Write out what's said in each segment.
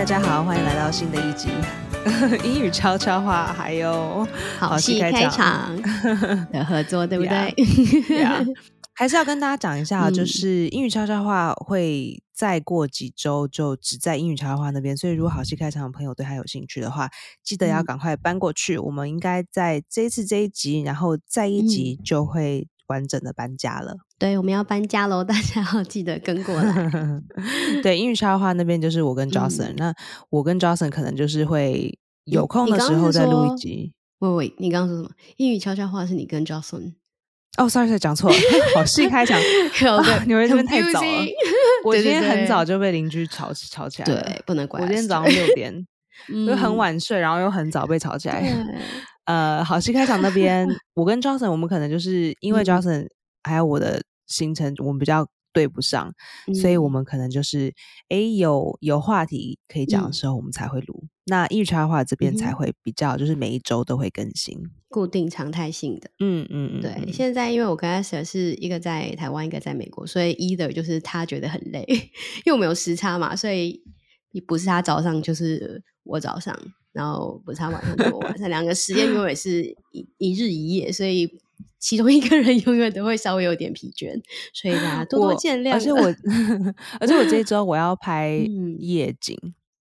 家好，歡迎來到新的一集英語悄悄話，還有好戲開場的合作，對不對？ yeah. 還是要跟大家講一下，就是英語悄悄話會再過幾週就只在英語悄悄話那邊，所以如果好戲開場的朋友對他有興趣的話，記得要趕快搬過去。我們應該在這一次這一集，然後再一集就會完整的搬家了。 對，我們要搬家咯，大家要記得跟過來。 對，英語悄悄話那邊就是我跟 Jocelyn，那我跟 Jocelyn 可能就是會有空的時候再錄一集。 喂，你剛剛說什麼？英語悄悄話是你跟 Jocelyn？ 哦、sorry， 講錯了，好戲開場。你們這邊太早了。我今天很早就被鄰居吵起來了。 對，不能怪。 我今天早上6點，就很晚睡，然後又很早被吵起來。好戲開場那邊，我跟 Jocelyn 我們可能就是因為 Jocelyn 還有我的行程，我們比較對不上，所以我們可能就是有話題可以講的時候，我們才會錄。那英語悄悄話這邊才會比較，就是每一周都會更新， 固定常態性的。對。現在因為我跟 Esther 是一個在台灣，一個在美國，所以 either 就是他覺得很累，因為我們有時差嘛，所以不是他早上就是我早上，然後不是他晚上就是我晚上，兩個時间永遠是一日一夜，所以其中一個人永遠都會稍微有點疲倦，所以大家多多見諒。 而且我這一周我要拍夜景。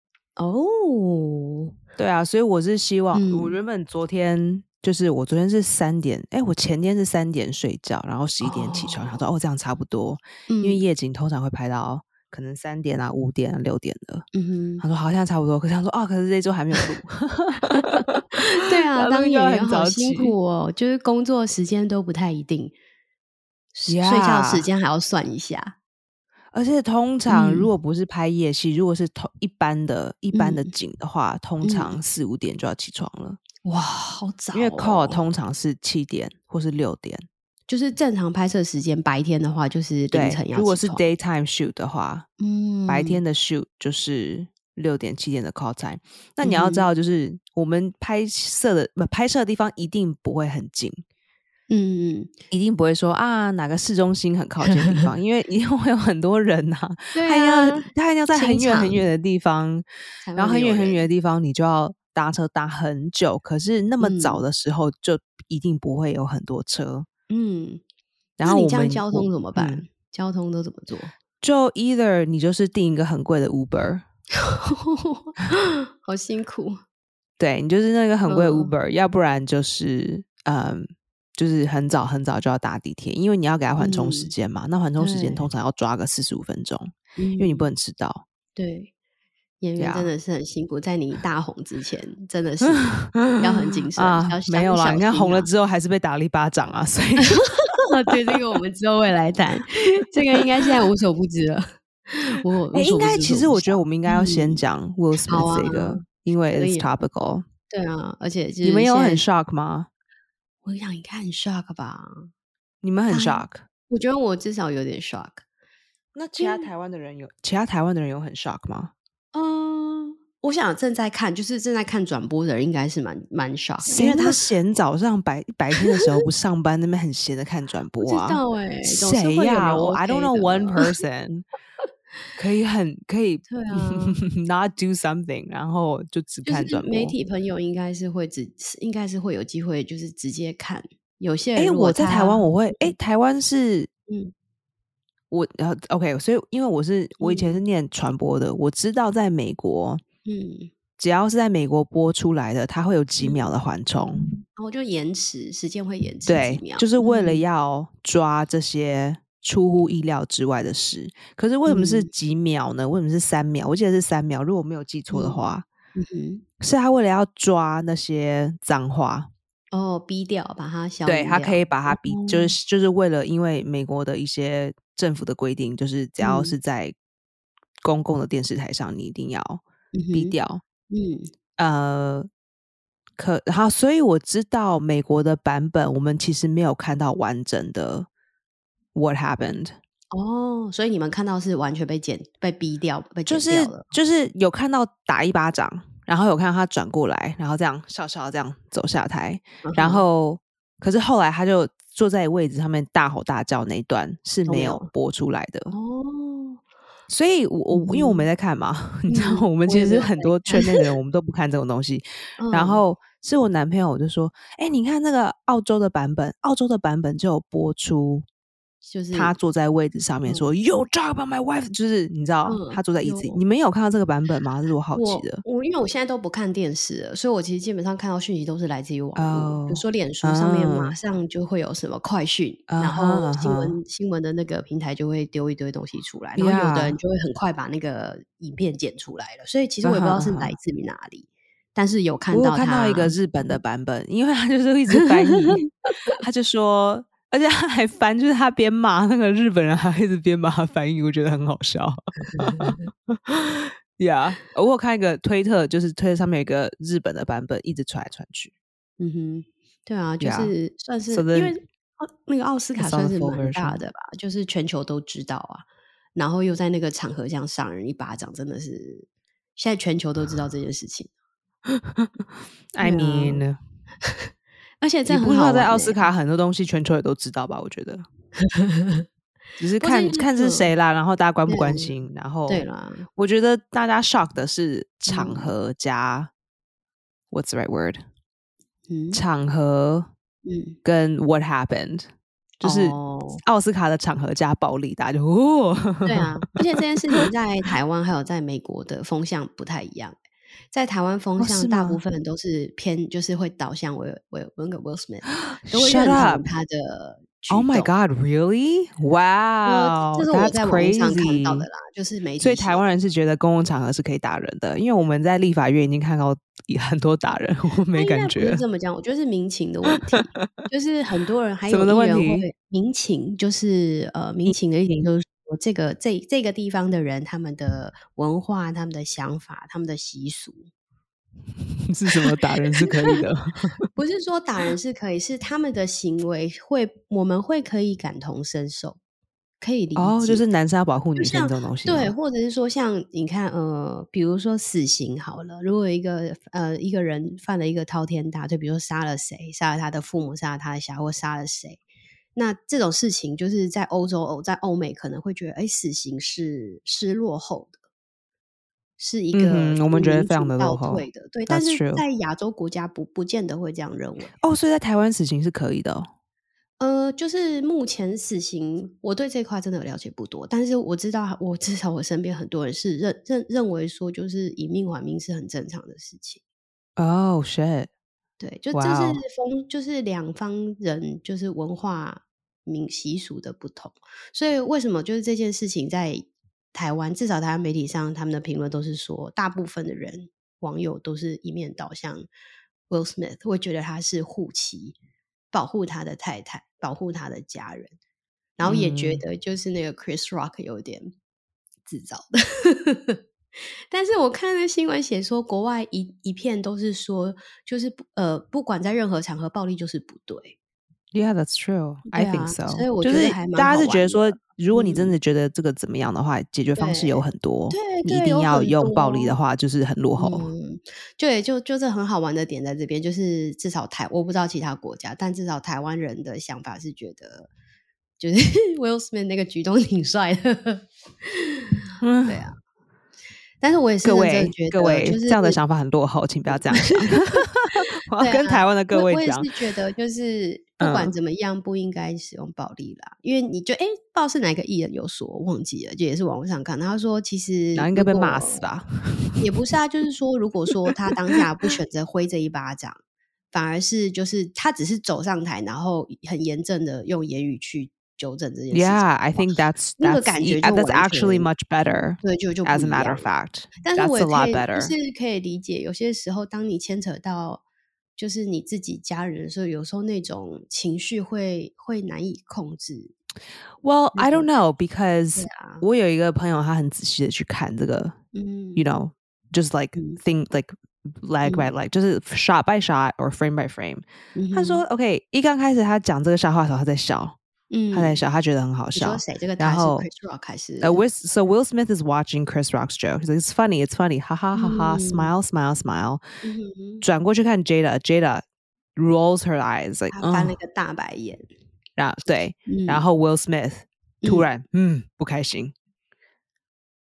對啊，所以我是希望，我原本昨天就是我昨天是3點，我前天是3點睡覺，然後11點起床，然後說这樣差不多，因為夜景通常會拍到可能3點啊、5點啊、6點的。他說好像差不多，可是他說可是這周還沒有錄。 對啊，當演員好辛苦哦，就是工作時間都不太一定，睡覺時間還要算一下。 而且通常如果不是拍夜戲，如果是一般的景的話，通常4、5點就要起床了。 哇，好早哦！ 因為 call 通常是7點或是6點，就是正常拍攝時間。白天的話就是凌晨要起床。 如果是 daytime shoot 的話，白天的 shoot 就是6點7點的 call time。那你要知道，就是我們拍攝的地方一定不會很近。一定不會說哪個市中心很靠近的地方，因為一定會有很多人啊。對啊，他要在很遠很遠的地方，然後很遠很遠的地方，你就要搭車搭很久。可是那麼早的時候，就一定不會有很多車。然後你這樣交通怎麼辦？交通都怎麼做？ 就 either 你就是訂一個很貴的 Uber， 好辛苦。 對，你就是那個很貴的 Uber，要不然就是就是很早很早就要搭地鐵，因為你要給他緩衝時間嘛。那緩衝時間通常要抓個45分鐘，因為你不能遲到。對， 演員真的是很辛苦，在你大紅之前，真的是要很謹慎。沒有啦，你看紅了之後還是被打了一巴掌啊，所以對， 這個我們之後會來談。這個應該現在無所不知了。 應該其實我覺得我們應該要先講 Will Smith 這個，因為 it's topical。 對啊，而且你們有很 shock 嗎？ 我想應該很 shock 吧？ 你們很 shock？ 我覺得我至少有點 shock。 那其他台灣的人有很 shock 嗎？ 我想正在看轉播的人應該是蠻 shock， 因為他閒早上白天的時候不上班，那邊很閒的看轉播啊。 不知道誰呀？I don't know one person 可以對啊 not do something， 然後就只看轉播。 就是媒體朋友應該是會有機會就是直接看。有些人我在台灣我會台灣是OK， 所以因為我以前是念傳播的，我知道在美國只要是在美國播出來的，它會有幾秒的緩衝， 然後就時間會延遲幾秒， 對，就是為了要抓這些出乎意料之外的事。可是為什麼是幾秒呢？為什麼是3秒？我記得是3秒，如果我沒有記錯的話，是他為了要抓那些髒話。 逼掉，把它消掉。 對，他可以把它逼，就是为了，因為美國的一些政府的規定，就是只要是在公共的電視台上，你一定要逼掉。好，所以我知道美國的版本，我們其實沒有看到完整的 What happened。 所以你們看到是完全被逼掉，被剪掉了。 就是有看到打一巴掌。然後有看到他轉過來，然後這樣笑笑這樣走下台，然後可是後來他就坐在位置上面大吼大叫那一段是沒有播出來的。 所以因為我沒在看嘛，你知道，我們其實很多圈內的人，我們都不看這種東西。然後是我男朋友，我就說，你看那個澳洲的版本就有播出。就是他坐在位置上面說 "You talk about my wife"， 就是你知道他坐在椅子裡。你們有看到這個版本嗎？這是我好奇的。 因為我現在都不看電視了，所以我其實基本上看到訊息都是來自於網絡。比如說臉書上面馬上就會有什麼快訊，然後新聞的那個平台就會丟一堆東西出來，然後有的人就會很快把那個影片剪出來了。所以其實我也不知道是來自於哪裡，但是有看到我看到一個日本的版本，因為他就是一直翻譯，他就說。而且他還翻，就是他邊罵那個日本人，還一直邊把他翻譯，我覺得很好笑。Yeah， 我有看一個推特，就是推特上面有一個日本的版本，一直傳來傳去。 對啊，就是算是、因為那個奧斯卡算是蠻大的吧，就是全球都知道啊，然後又在那個場合這樣賞人一巴掌，真的是現在全球都知道這件事情。 I mean。 而且這你不知道在奧斯卡很多東西全球也都知道吧？我覺得只是看是誰啦，然後大家關不關心，然後對啦， 我覺得大家 shock 的是場合加、what's the right word？场合跟 what happened，就是奧斯卡的場合加暴力，大家就對啊，而且這件事情在台灣還有在美國的風向不太一樣。在台灣風向大部分人都是偏就是會導向那個 Will Smith 都會認同他的舉動。 Oh my god, really? Wow, 這是我在網絡上看到的啦，就是媒體。 所以台灣人是覺得公共場合是可以打人的，因為我們在立法院已經看到很多打人，我沒感覺。 不是這麼講，我覺得是民情的問題，就是很多人還有議員會民情，就是民情的一點就是這個地方的人，他們的文化、他們的想法、他們的習俗是什麼？打人是可以的？ 不是說打人是可以，是他們的行為我們會可以感同身受，可以理解。 就是男生要保護女生這種東西。 對，或者是說像你看，比如說死刑好了，如果一個人犯了一個滔天大罪，比如說殺了誰，殺了他的父母，殺了他的小孩，或殺了誰。那這種事情就是在在歐美可能會覺得，死刑是落後的，是一個我們覺得非常的落後的，對。但是在亞洲國家不見得會這樣認為。 所以在台灣死刑是可以的就是目前死刑，我對這塊真的了解不多，但是我知道，至少我身邊很多人是認為說，就是以命還命是很正常的事情。 Oh shit！ 對，就這是就是兩方人就是文化習俗的不同，所以為什麼就是這件事情在台灣，至少台灣媒體上他們的評論都是說，大部分的人網友都是一面倒向 Will Smith， 會覺得他是護妻，保護他的太太，保護他的家人，然後也覺得就是那個 Chris Rock 有點自找的。但是我看那新聞寫說，國外一片都是說，就是不管在任何場合，暴力就是不对。 Yeah, that's true. I think so. 所以我觉得還蠻好玩的。 大家是覺得說，如果你真的覺得這個怎麼樣的話，解決方式有很多。你一定要用暴力的話，就是很落后。 对，就这很好玩的點在這邊，就是至少我不知道其他國家，但至少台灣人的想法是覺得，就是 Will Smith 那個舉動挺帥的。對啊。但是我也是認真覺得， 各位，就是這樣的想法很落後，請不要這樣想。我要跟台灣的各位講， 我也是覺得，就是不管怎麼樣，不應該使用暴力啦。因為你就不知道是哪個藝人有說，我忘記了，就也是網絡上看，他說其實應該被罵死吧？ 也不是啊，就是說，如果說他當下不選擇揮這一巴掌，反而是就是他只是走上台，然後很嚴正的用言語去糾正這件事情。 Yeah, I think that's 那個感覺 that's actually much better. 對，就 as a matter of fact, 但是我也 that's a lot better. 就是可以理解，有些時候當你牽扯到就是你自己家人的時候，有時候那種情緒會難以控制。 Well, I don't know, because 我有一個朋友，他很仔細的去看這個，you know, just like think like leg by leg, 就是 shot by shot or frame by frame. 他說 OK， 一剛開始他講這個笑話的時候，他在笑。他在笑，他覺得很好笑。 你說誰？這個他是 Chris Rock 還是 ？So Will Smith is watching Chris Rock's joke. He's like, it's funny, it's funny. 哈哈哈哈 smile, smile, smile. 轉過去看 Jada rolls her eyes, like 他翻了個大白眼。 對，然後 Will Smith 突然不開心。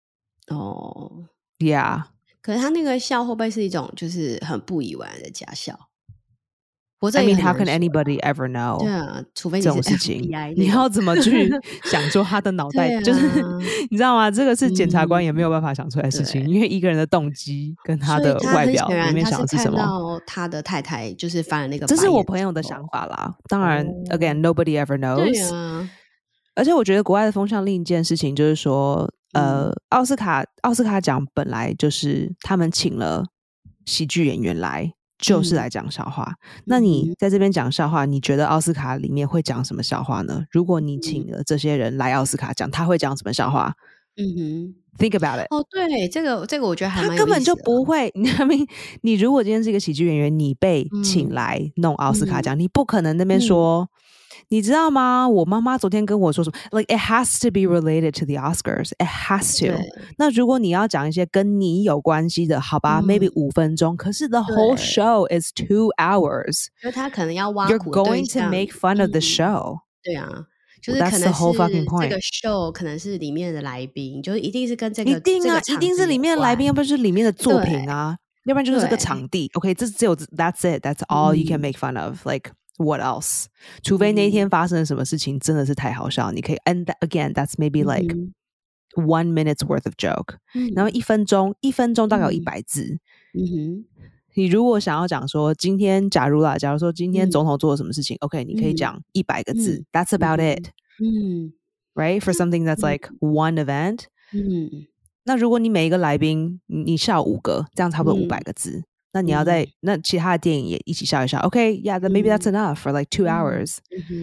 哦 ，Yeah。 可是他那個笑會不會是一種就是很不以為然的假笑？ I mean, how can anybody ever know？ 对啊，除非你是 FBI 這種事情，你要怎麼去想說他的腦袋？就是你知道嗎？這個是檢察官也沒有辦法想出來的事情，因為一個人的動機跟他的外表裡面想的是什麼？ 他是看到他的太太就是翻了那個白眼， 這是我朋友的想法啦。當然，again, nobody ever knows。 對啊， 而且我覺得國外的風向另一件事情就是說，奧斯卡獎本來就是他們請了喜劇演員來。就是來講笑話。那你在這邊講笑話，你覺得奧斯卡裡面會講什麼笑話呢？如果你請了這些人來奧斯卡講，他會講什麼笑話？Think about it。 哦，對，這個我覺得還蠻有意思的。 他根本就不會。你如果今天是一個喜劇演員，你被請來弄奧斯卡獎，你不可能那邊說。你知道嗎？我媽媽昨天跟我說什麼 ？Like it has to be related to the Oscars. It has to. 那如果你要講一些跟你有關係的，好吧 ，maybe 5分鐘。可是 the whole show is 2 hours. 就他可能要挖苦 You're going to make fun of the show. 對啊，就是可能是這個 show 可能是裡面的來賓，就是一定是跟這個一定啊，一定是裡面的來賓，要不然就是裡面的作品啊，要不然就是這個場地。OK， 這只有 That's it. That's all you can make fun of. Like.What else？ 除非那天發生了什麼事情真的是太好笑，你可以 and again that's maybe like 1 minute's worth of joke。然後1分鐘大概有100字。你如果想要講說今天假如說今天總統做了什麼事情，OK， 你可以講100個字。That's about it。Right for something that's like one event。那如果你每一個來賓你笑5個，這樣差不多500個字。那你要在那其他的電影也一起笑一笑 ，OK， yeah， then maybe that's enough for like 2 hours。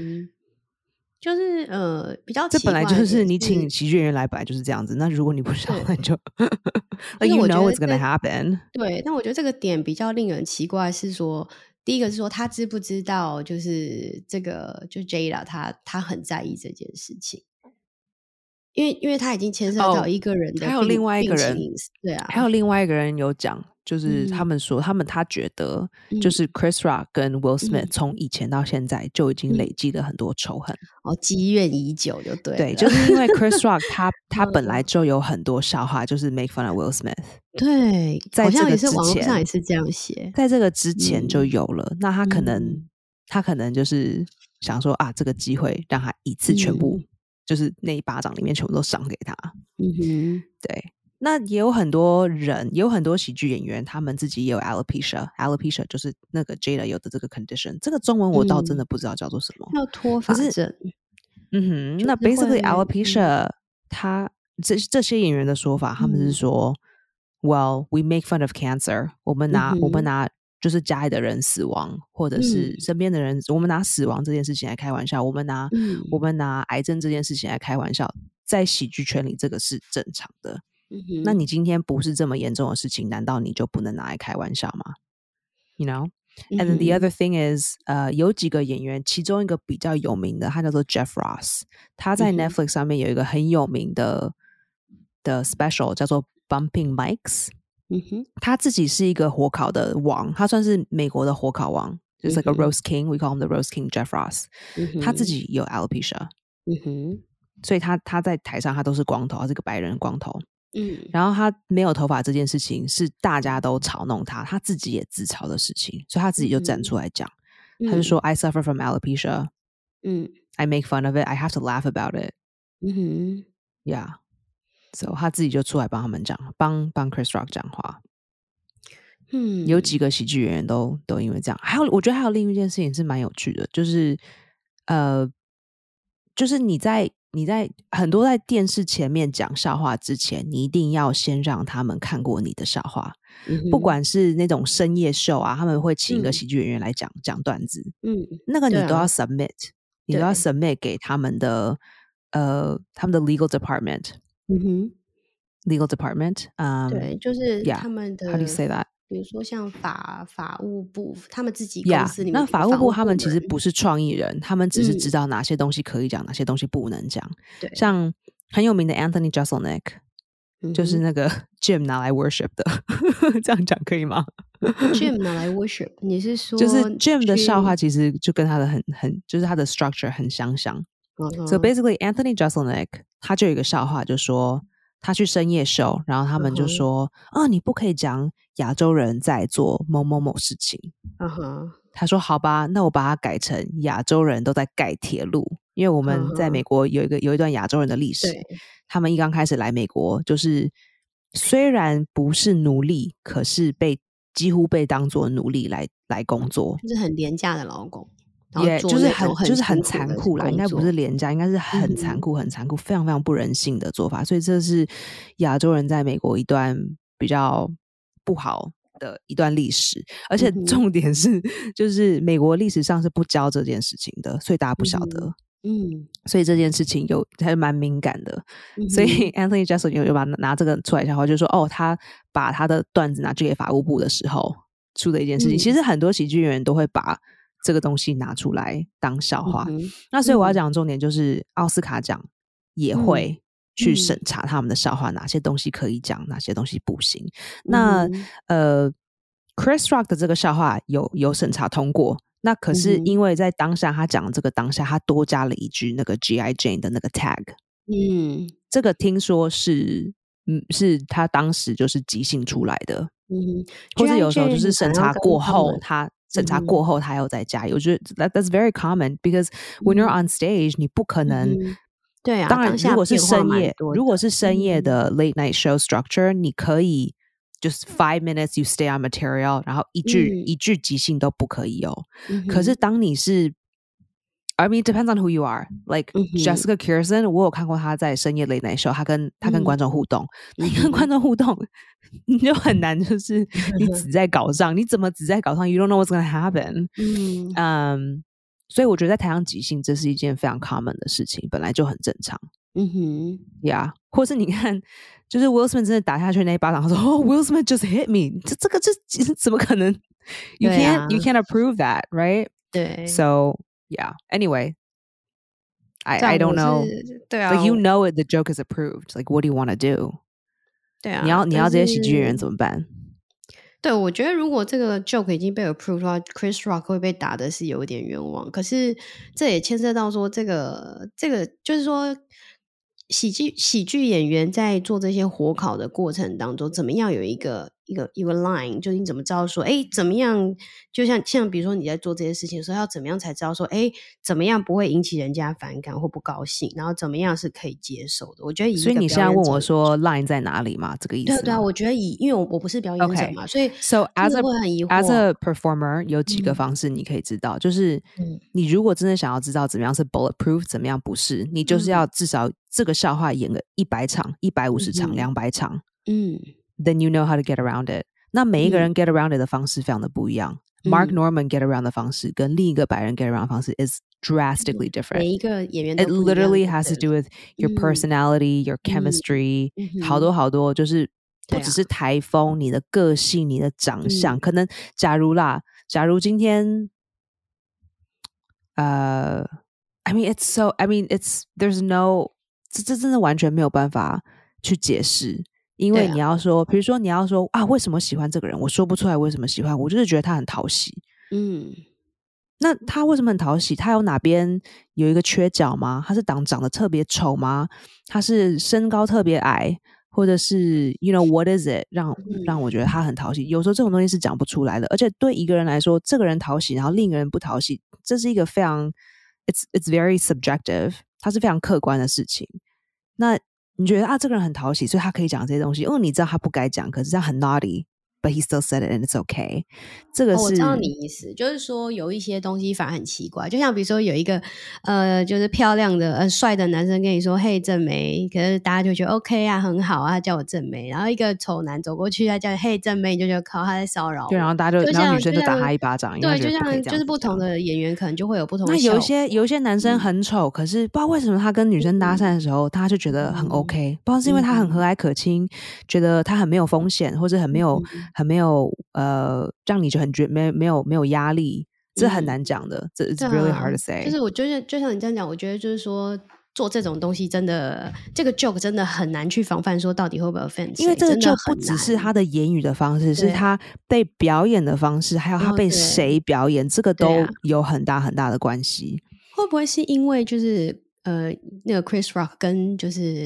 就是比較奇怪的， 這本來就是你請喜劇演員來，本來就是這樣子。那如果你不笑，那就 like you know it's gonna happen。 對，但我覺得這個點比較令人奇怪是說，第一個是說他知不知道，就是這個就 Jada 他很在意這件事情。因為他已經牽涉到一個人的還有另外一個人， 對啊， 還有另外一個人有講，就是他們說他覺得就是 Chris Rock 跟 Will Smith 從以前到現在就已經累積了很多仇恨， 積怨已久就對了。 對，就是因為 Chris Rock 他本來就有很多笑話，就是 make fun of Will Smith。 對， 在這個之前網絡上也是這樣寫， 在這個之前就有了。那他可能就是想說啊，這個機會讓他一次全部。就是那一巴掌裡面全部都賞給他。對。那也有很多人，也有很多喜劇演員，他們自己也有 alopecia 就是那個 Jada 有的這個 condition。這個中文我倒真的不知道叫做什麼。 叫脫髮症。 那 basically alopecia，這些演員的說法，他們是說，well we make fun of cancer， 我們拿就是家裡的人死亡，或者是身邊的人，我們拿死亡這件事情來開玩笑，我們拿癌症這件事情來開玩笑，在喜劇圈裡這個是正常的。那你今天不是這麼嚴重的事情，難道你就不能拿來開玩笑嗎？ You know? And then the other thing is, 有幾個演員，其中一個比較有名的，他叫做 Jeff Ross， 他在 Netflix 上面有一個很有名的 special 叫做 Bumping Mics。他自己是一個火烤的王，他算是美國的火烤王，就是 like a roast king， we call him the roast king Jeff Ross。他自己有 alopecia，所以他在台上他都是光頭，他是個白人光頭。然後他沒有頭髮這件事情是大家都嘲弄他，他自己也自嘲的事情，所以他自己就站出來講，他就說 I suffer from alopecia， I make fun of it, I have to laugh about it。Yeah。So 他自己就出來幫他們講，幫 Chris Rock 講話。有幾個喜劇演員都因為這樣。我覺得還有另一件事情是蠻有趣的，就是就是你在很多在電視前面講笑話之前，你一定要先讓他們看過你的笑話。不管是那種深夜秀啊，他們會請一個喜劇演員來講段子。那個你都要 submit，你都要 submit 給他們的legal department。legal department， 對，就是他們的 How do you say that？ 比如说像法務部，他們自己公司裡面， 那法務部他們其實不是創意人，他們只是知道哪些東西可以講，哪些東西不能講。對，像很有名的 Anthony Jeselnik，就是那個 Jim 拿來 worship 的，這樣講可以嗎 ？Jim 拿來 worship， 你是說就是 Jim 的笑話其實就跟他的很就是他的 structure 很相像。So basically Anthony Jeselnik 他就有一個笑話，就說他去深夜秀，然後他們就說你不可以講亞洲人在做某某某事情。他說好吧，那我把它改成亞洲人都在蓋鐵路，因為我們在美國有一段亞洲人的歷史。他們一剛開始來美國，就是雖然不是奴隸，可是幾乎被當作奴隸來工作， 就是很廉價的勞工。 也就是很殘酷啦，應該不是廉價，應該是很殘酷、很殘酷，非常非常不人性的做法。所以這是亞洲人在美國一段比較不好的一段歷史，而且重點是，就是美國歷史上是不教這件事情的，所以大家不曉得。所以這件事情還蠻敏感的。所以 Anthony Jeselnik 有把拿這個出來笑話，就說他把他的段子拿去給法務部的時候出的一件事情。其實很多喜劇演員都會把這個東西拿出來當笑話。那所以我要講的重點就是奧斯卡獎也會去審查他們的笑話，哪些東西可以講，哪些東西不行。那Chris Rock 的這個笑話有審查通過，那可是因為在當下他講的這個當下，他多加了一句那個 G.I. Jane 的那個 tag。這個聽說是他當時就是即興出來的。或者有時候就是審查過後他又再加，我覺得 that's very common because when you're on stage 你不可能对啊， 當然如果是深夜的 late night show structure 你可以just 5 minutes you stay on material 然后一句即興都不可以有。可是当你是I mean, it depends on who you are. Like Jessica Kirson, 我有看過她在深夜 late night show， 她跟觀眾互動。你跟觀眾互動，你就很難，就是你只在稿上，你怎麼只在稿上 ？You don't know what's going to happen. 所以我覺得在台上即興，這是一件非常 common 的事情，本來就很正常。Yeah， 或是你看，就是 Will Smith 真的打下去那一巴掌，他說Will Smith just hit me， 這個怎麼可能 ？You can't approve that, right? 對 So.Yeah. Anyway, I don't know. 对啊 Like you know it, the joke is approved. Like what do you want to do? 对啊， 你要这些喜劇演員怎麼辦？ 對，我覺得如果這個 joke 已經被 approved 的話 ，Chris Rock 會被打的是有一點冤枉。可是這也牽涉到說，這個就是說，喜劇演員在做這些火烤的過程當中，怎麼樣有一個 line， 就是你怎麼知道說，怎麼樣，就像比如說你在做這些事情的時候，要怎麼樣才知道說，怎麼樣不會引起人家反感或不高興，然後怎麼樣是可以接受的。我覺得所以你現在問我說 line 在哪裡嗎？這個意思？對啊，我覺得因為我不是表演者嘛，所以 so as a performer 有幾個方式你可以知道，就是你如果真的想要知道怎麼樣是 bulletproof， 怎麼樣不是，你就是要至少這個笑話演個100場、150場、200場，then you know how to get around it。那每一個人 get around it 的方式非常的不一樣。Mark Norman get around 的方式跟另一個白人 get around 的方式 is drastically different。 每一個演員都不一樣。It literally has to do with your personality, your chemistry，好多就是不只是台風，你的個性、你的長相，可能假如今天I mean there's no 這真的完全沒有辦法去解釋，因為你要說，比如說你要說為什麼喜歡這個人，我說不出來為什麼喜歡，我就是覺得他很討喜。那他為什麼很討喜？他有哪邊有一個缺角嗎？他是長得特別醜嗎？他是身高特別矮，或者是 you know what is it 讓我覺得他很討喜？有時候這種東西是講不出來的，而且對一個人來說，這個人討喜，然後另一個人不討喜，這是一個非常 it's very subjective， 它是非常客觀的事情。那你覺得這個人很討喜，所以他可以講這些東西。你知道他不該講，可是這樣很 naughty。But he still said it and it's okay。 這個是我知道你意思，就是說有一些東西反而很奇怪，就像比如說有一個就是漂亮的帥的男生跟你說嘿正妹，可是大家就覺得 OK 啊很好啊，他叫我正妹。然後一個醜男走過去他叫嘿正妹，你就覺得靠他在騷擾我。對，然後大家然後女生就打他一巴掌。對，就像就是不同的演員可能就會有不同的。那有一些男生很醜，可是不知道為什麼他跟女生搭訕的時候，他就覺得很 OK，不知道是因為他很和藹可親，覺得他很沒有風險，或者很沒有讓你就很覺没有壓力，這很難講的，這 it's really hard to say。就是我就像你這樣講，我覺得就是說做這種東西真的，這個 joke 真的很難去防範，說到底會不會 offend。因為這個 joke 不只是他的言語的方式，是他被表演的方式，還有他被誰表演，這個都有很大很大的關係。會不會是因為就是那個 Chris Rock 跟就是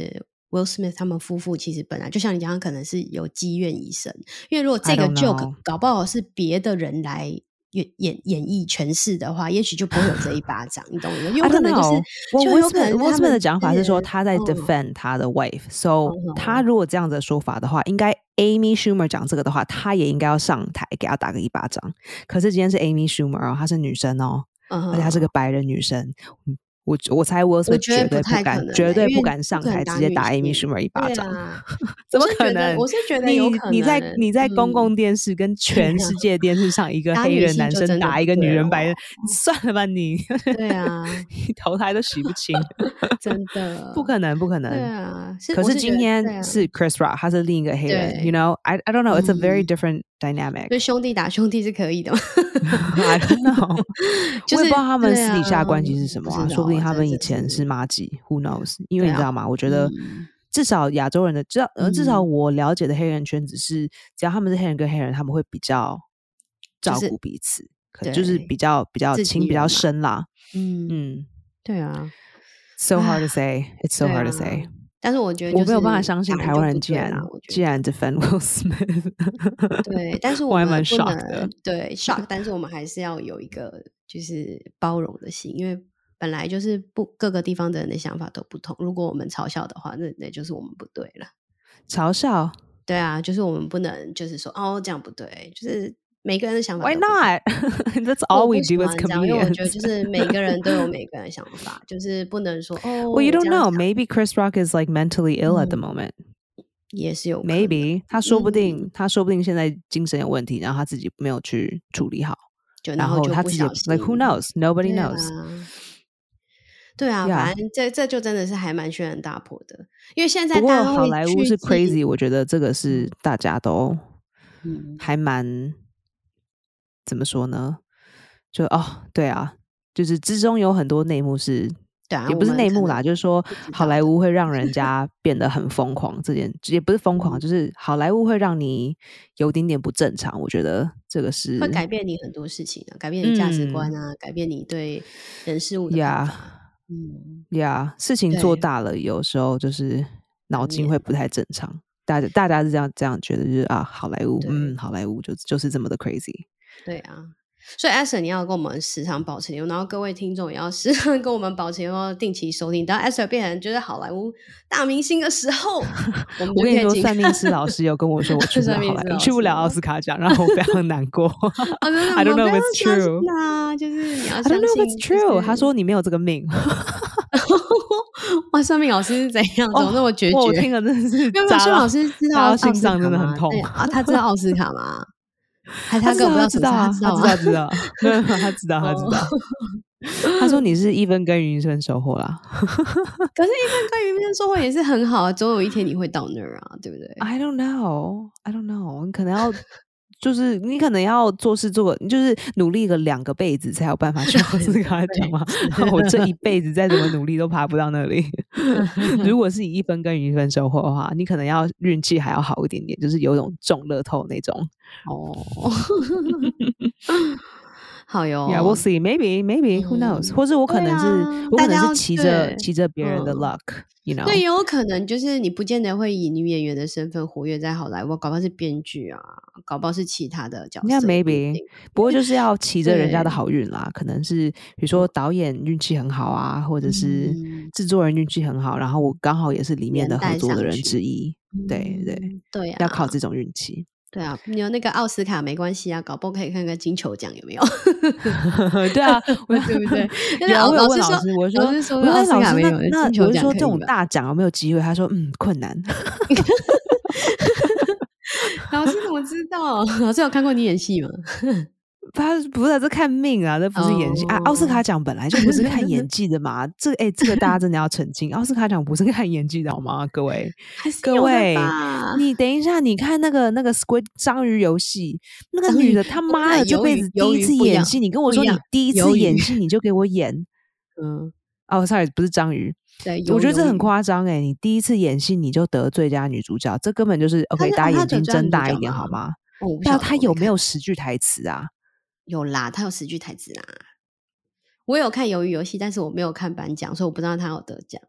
Will Smith 他們夫婦其實本來就像你講，他可能是有積怨已深，因為如果這個 joke 搞不好是別的人來演繹詮釋的話，也許就不會有這一巴掌，你懂嗎？有可能就是就有可能 Will Smith 的講法是說他在 defend 他的 wife，so 他如果這樣子的說法的話，應該 Amy Schumer 講這個的話，他也應該要上台給他打個一巴掌。可是今天是 Amy Schumer 哦，她是女生哦，而且她是個白人女生。我猜 Will Smith 絕對不敢上台直接打 Amy Schumer 一巴掌，怎麼可能？ 我是覺得有可能。 你在公共電視跟全世界電視上，一個黑人男生打一個女人白人，算了吧你。 對啊， 你投胎都洗不清， 真的不可能。 对啊， 可是今天是 Chris Rock， 他是另一個黑人 ，you know， I don't know， it's a very different dynamic。 所以兄弟打兄弟是可以的嗎 ？I don't know， 我也不知道他們私底下關係是什麼啊，說不定他們以前是麻吉 ，Who knows？ 因為你知道嗎？我覺得至少亞洲人的，至少我了解的黑人圈子是，只要他們是黑人跟黑人，他們會比較照顧彼此，就是比較情比較深啦。 对啊 ，so hard to say，it's so hard to say。 但是我觉得我没有办法相信台灣人既然 defend Will Smith， 对，但是我还蠻 shock 的， 对 shock， 但是我们还是要有一個就是包容的心，因為本來就是各個地方的人的想法都不同，如果我們嘲笑的話，那就是我們不對了。 嘲笑？ 對啊，就是我們不能就是說哦這樣不對，就是每個人的想法都不同。 Why not? That's all we do as comedians。 因為我覺得就是每個人都有每個人的想法，就是不能說哦。 Well, you don't know. Maybe Chris Rock is like mentally ill at the moment。 也是有可能。 Maybe 他說不定現在精神有問題，然後他自己沒有去處理好， 然後他自己 like who knows? Nobody knows。 對啊，反正這就真的是還蠻軒然大波的，因為現在不過好萊塢是 crazy， 我覺得這個是大家都還蠻怎麼說呢？就對啊，就是之中有很多內幕是，對啊，也不是內幕啦，就是說好萊塢會讓人家變得很瘋狂，這件也不是瘋狂，就是好萊塢會讓你有點不正常。我覺得這個是會改變你很多事情啊，改變你價值觀啊，改變你對人事物的看法。 事情做大了，有時候就是腦筋會不太正常。大家是這樣覺得，就是好萊塢，好萊塢就是這麼的 crazy。對啊， 所以 Esther 你要跟我們時常保持聯絡，然後各位聽眾也要時常跟我們保持聯絡，定期收聽。當 Esther 變成就是好萊塢大明星的時候， 我跟你說，算命師老師有跟我說，我去不了好萊塢，去不了奧斯卡獎，然後我非常難過。I don't know if it's true。 就是你要相信 I don't know if it's true。他說你沒有這個命。 哇，算命老師是怎樣？怎麼那麼決絕？ 我聽了真的是， 因為算命老師知道心臟真的很痛啊。他知道奧斯卡嗎？還他根本不知道， 他知道，他知道。他說你是一分耕耘一分收穫啦。 可是，一分耕耘一分收穫也是很好啊，總有一天你會到那兒啊，對不對 ？I don't know，你可能要。就是你可能要做事就是努力個2個輩子才有辦法去奧斯卡獎嘛。我這一輩子再怎麼努力都爬不到那裡。如果是以一分耕耘一分收穫的話，你可能要運氣還要好一點點，就是有種中樂透那種。 好喲 ，Yeah, we'll see. Maybe, who knows? 或者我可能是騎着別人的 luck, you know? 對，也有可能就是你不見得會以女演員的身份活躍在好萊塢，搞不好是編劇啊，搞不好是其他的角色。 Yeah, maybe. 不過就是要騎着人家的好運啦，可能是比如說導演運氣很好啊，或者是製作人運氣很好，然後我剛好也是裡面的合作的人之一。對啊，要靠這種運氣。 對啊，你有那個奧斯卡沒關係啊，搞不好可以看看金球獎有沒有？ 對啊，對不對？我有問老師，我說奧斯卡沒有， 那我就說這種大獎有沒有機會？他說困難。 老師怎麼知道？老師有看過你演戲嗎？ 他不是，這看命啊，這不是演戲啊。奧斯卡獎本來就不是看演技的嘛。這個大家真的要澄清，奧斯卡獎不是看演技的好嗎？各位，你等一下，你看那個 Squid 章魚遊戲，那個女的他媽的這輩子第一次演戲，你跟我說你第一次演戲你就給我演，sorry 不是章魚。對，我覺得這很誇張欸，你第一次演戲你就得最佳女主角，這根本就是 OK， 大家眼睛睜大一點好嗎？那他有沒有10句台詞啊？ 有啦，他有10句台詞啦。我有看魷魚遊戲，但是我沒有看頒獎，所以我不知道他有得獎。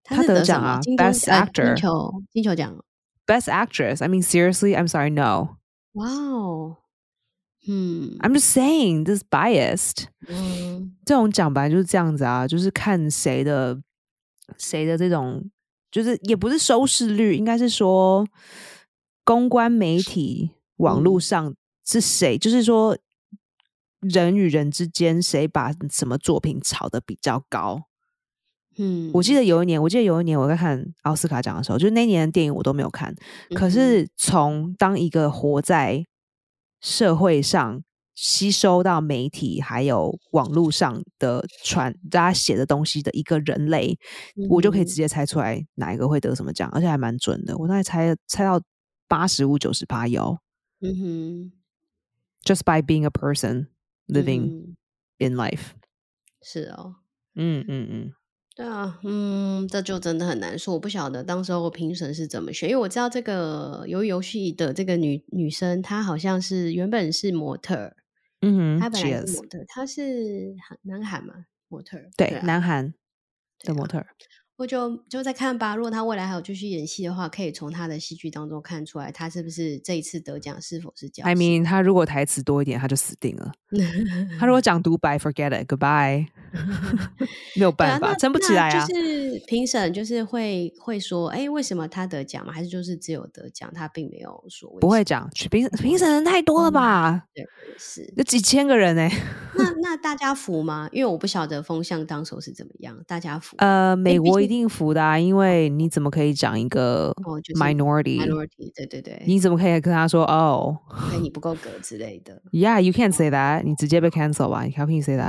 他得獎啊，Best Actor， 金球獎 ，Best Actress。I mean seriously, I'm sorry, no. Wow. I'm just saying this is biased. 這種獎本來就是這樣子啊，就是看誰的這種，就是也不是收視率，應該是說公關媒體網絡上是誰，就是說人與人之間誰把什麼作品炒得比較高。我記得有一年我在看奧斯卡獎的時候，就是那年的電影我都沒有看，可是從當一個活在社會上吸收到媒體還有網絡上的大家寫的東西的一個人類，我就可以直接猜出來哪一個會得什麼獎，而且還蠻準的，我大概猜到85-90%有。Just by being a person living in life。 是哦。对啊，這就真的很難說，我不曉得當時候評審是怎麼選，因為我知道這個魷魚遊戲的這個女生，她好像是原本是模特，她本來是模特，她是南韓嘛，模特， 對，南韓的模特。 我就在看吧，如果他未來還有繼續演戲的話，可以從他的戲劇當中看出來，他是不是這一次得獎是否是僥倖。 I mean， 他如果台詞多一點，他就死定了。他如果講獨白 ，forget it，goodbye， 沒有辦法，撐不起來啊。 就是評審就是會說，為什麼他得獎嗎？還是就是只有得獎，他並沒有說為什麼？ 不會講，評審人太多了吧？ 對，是有幾千個人那大家服嗎？因為我不曉得風向當時候是怎麼樣，大家服？ 美國一定服的啊，因為你怎麼可以講一個 minority？ 對， 你怎麼可以跟他說你不夠格之類的 ？Yeah, you can't say that，你直接被 cancel 吧？How can you say that？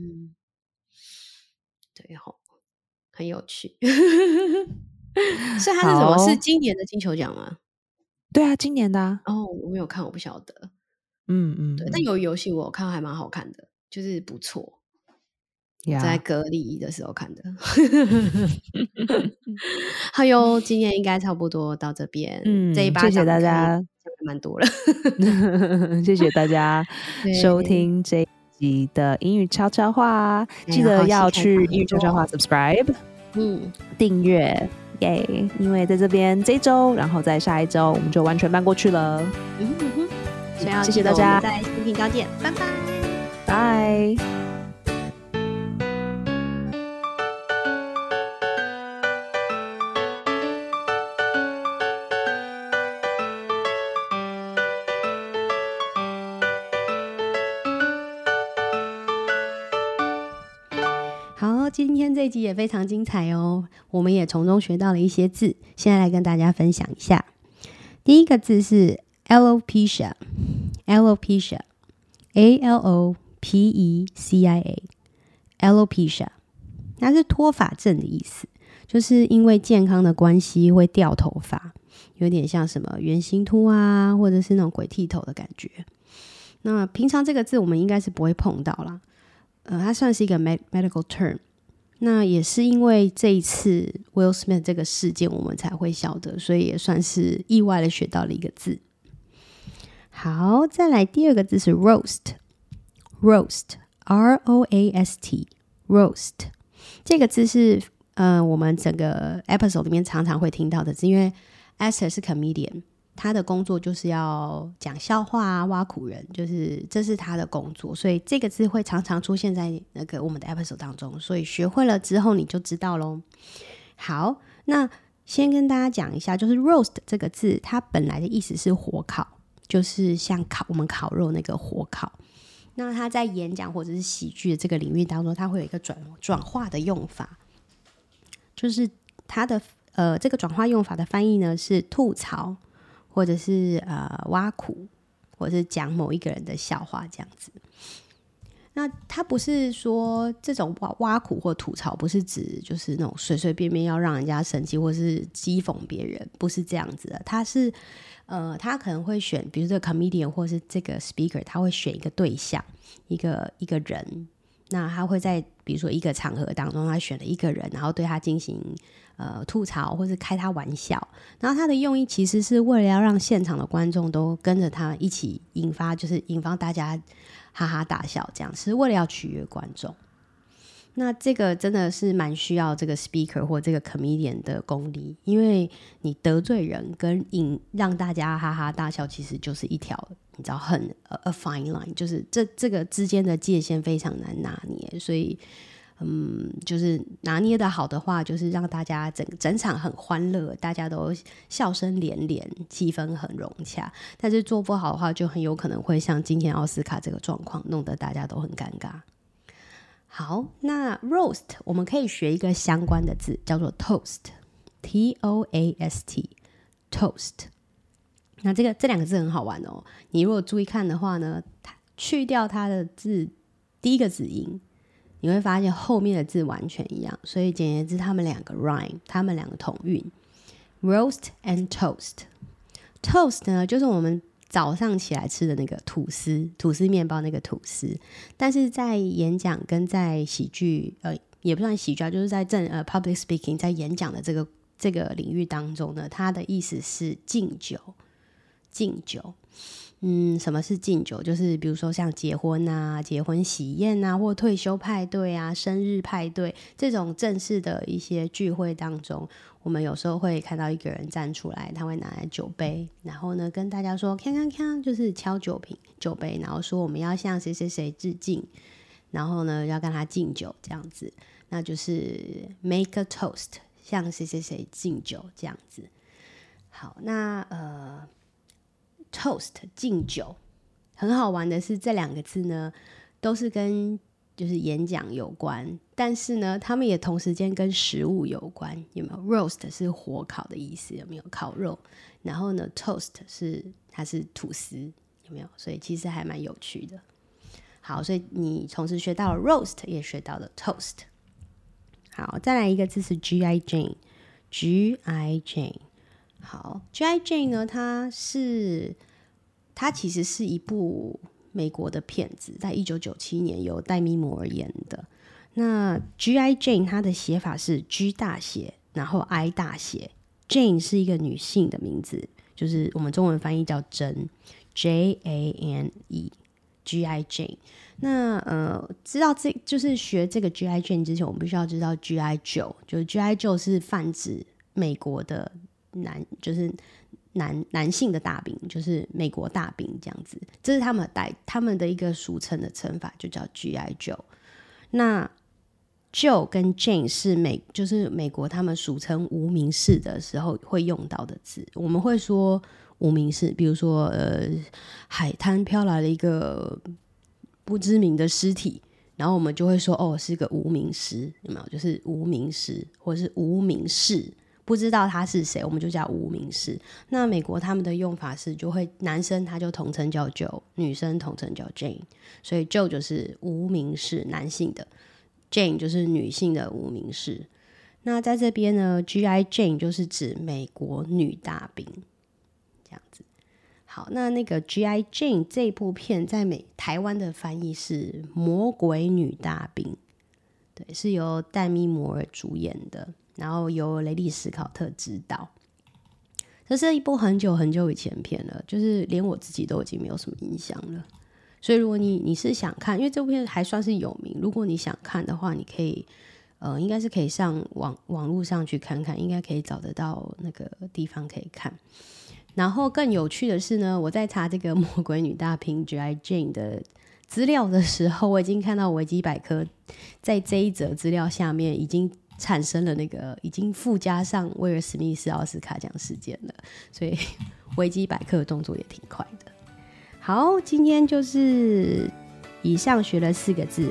對齁，很有趣。所以他是什麼？是今年的金球獎嗎？ 對啊，今年的啊。 我沒有看，我不曉得。對，但有遊戲我有看，還蠻好看的，就是不錯。在隔離的時候看的。好喲，今天應該差不多到這邊。這一巴掌謝謝大家，蠻多了。 謝謝大家收聽這一集的英語悄悄話，記得要去英語悄悄話 subscribe， 訂閱耶！因為在這邊這一周，然後在下一周我們就完全搬過去了。謝謝大家， 在新頻道見，拜拜， 拜。 今天這一集也非常精彩哦，我們也從中學到了一些字，現在來跟大家分享一下。第一個字是 alopecia， alopecia， A-L-O-P-E-C-I-A， alopecia， 它是脫髮症的意思，就是因為健康的關係會掉頭髮，有點像什麼圓形禿啊，或者是那種鬼剃頭的感覺。那平常這個字我們應該是不會碰到啦，它算是一個 medical term。那也是因為這一次 Will Smith 這個事件我們才會曉得，所以也算是意外的學到了一個字。好，再來第二個字是 roast， R-O-A-S-T， roast 這個字是我們整個 episode 裡面常常會聽到的字，因為 Esther 是 comedian， 他的工作就是要講笑話啊，挖苦人，就是這是他的工作，所以這個字會常常出現在那個我們的 episode 當中，所以學會了之後你就知道咯。好，那先跟大家講一下，就是 roast 這個字它本來的意思是火烤，就是像我們烤肉那個火烤。那它在演講或者是喜劇的這個領域當中，它會有一個轉化的用法，就是它的這個轉化用法的翻譯呢是吐槽，或者是挖苦，或者是講某一個人的笑話這樣子。那他不是說這種挖苦或吐槽，不是指就是那種隨隨便便要讓人家生氣，或是譏諷別人，不是這樣子的。他是他可能會選，比如這個 comedian 或是這個 speaker， 他會選一個對象，一個人。那他會在比如說一個場合當中，他選了一個人，然後對他進行吐槽或是開他玩笑，然後他的用意其實是為了要讓現場的觀眾都跟着他一起引發大家哈哈大笑，這樣是為了要取悅觀眾。 那這個真的是蠻需要這個 speaker 或這個 comedian 的功力，因為你得罪人跟讓大家哈哈大笑，其實就是一條你知道很a fine line， 就是這個之間的界限非常難拿捏，所以就是拿捏的好的話，就是讓大家整場很歡樂，大家都笑聲連連，氣氛很融洽。但是做不好的話，就很有可能會像今天奧斯卡這個狀況，弄得大家都很尷尬。好，那 roast 我們可以學一個相關的字，叫做 toast， T-O-A-S-T， toast。那這兩個字很好玩哦。你如果注意看的話呢，去掉它的字第一個子音，你會發現後面的字完全一樣。所以簡言之，他們兩個 rhyme， 他們兩個同韻。roast and toast。toast 呢，就是我們早上起來吃的那個吐司麵包那個吐司，但是在演講跟在喜劇也不算喜劇，就是在public speaking 在演講的這個領域當中呢，它的意思是敬酒。什麼是敬酒？就是比如說像結婚喜宴啊，或退休派對啊，生日派對這種正式的一些聚會當中，我們有時候會看到一個人站出來，他會拿來酒杯，然後呢跟大家說鏘鏘鏘，就是敲酒杯，然後說我們要向誰誰誰致敬，然後呢要跟他敬酒這樣子，那就是 make a toast， 向誰誰誰敬酒這樣子。好，那toast 敬酒，很好玩的是這兩個字呢都是跟就是演講有關，但是呢他們也同時間跟食物有關，有沒有？ roast 是火烤的意思，有沒有？烤肉。然後呢 toast 它是吐司，有沒有？所以其實還蠻有趣的。好，所以你同時學到了 roast 也學到了 toast。好，再來一個字是 G.I. Jane。G.I. Jane， 好， G.I. Jane 呢，它其實是一部美國的片子，在1997年由戴咪摩爾演的。那 G.I. Jane 它的寫法是 G 大寫，然後 I 大寫。Jane 是一個女性的名字，就是我們中文翻譯叫珍 J-A-N-E G.I. Jane。那知道就是學這個 G.I. Jane 之前，我們必須要知道 G.I. Joe， 就是 G.I. Joe 是泛指美國的男性的大兵，就是美國大兵這樣子，這是他們的一個俗稱的稱法，就叫 G.I. Joe。那 Joe 跟 Jane 是就是美國他們俗稱无名氏的時候會用到的字。我們會說无名氏，比如說海灘飄來了一個不知名的屍體，然後我們就會說是個無名屍，有沒有？就是無名屍或者是無名氏，不知道他是誰，我們就叫無名氏。那美國他們的用法是，就會男生他就統稱叫 Joe， 女生統稱叫 Jane， 所以 Joe 就是无名氏，男性的， Jane 就是女性的无名氏。那在這邊呢 G.I. Jane 就是指美國女大兵這樣子。好，那個 G.I. Jane 這部片在台灣的翻譯是魔鬼女大兵，對，是由戴咪摩爾主演的，然後由雷利史考特執導。這是一部很久很久以前片了，就是連我自己都已經沒有什麼印象了。所以如果你是想看，因為這部片還算是有名，如果你想看的話，你可以應該是可以上網絡上去看看，應該可以找得到那個地方可以看。然後更有趣的是呢，我在查這個魔鬼女大兵 G.I. Jane 的資料的時候，我已經看到維基百科在這一則資料下面已經產生了已經附加上威爾史密斯奧斯卡獎事件了，所以維基百科的動作也挺快的。好，今天就是以上學了4個字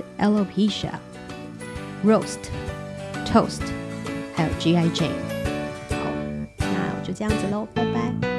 Alopecia、Roast、Toast 還有 G.I. Jane。好，那我就這樣子咯，拜拜。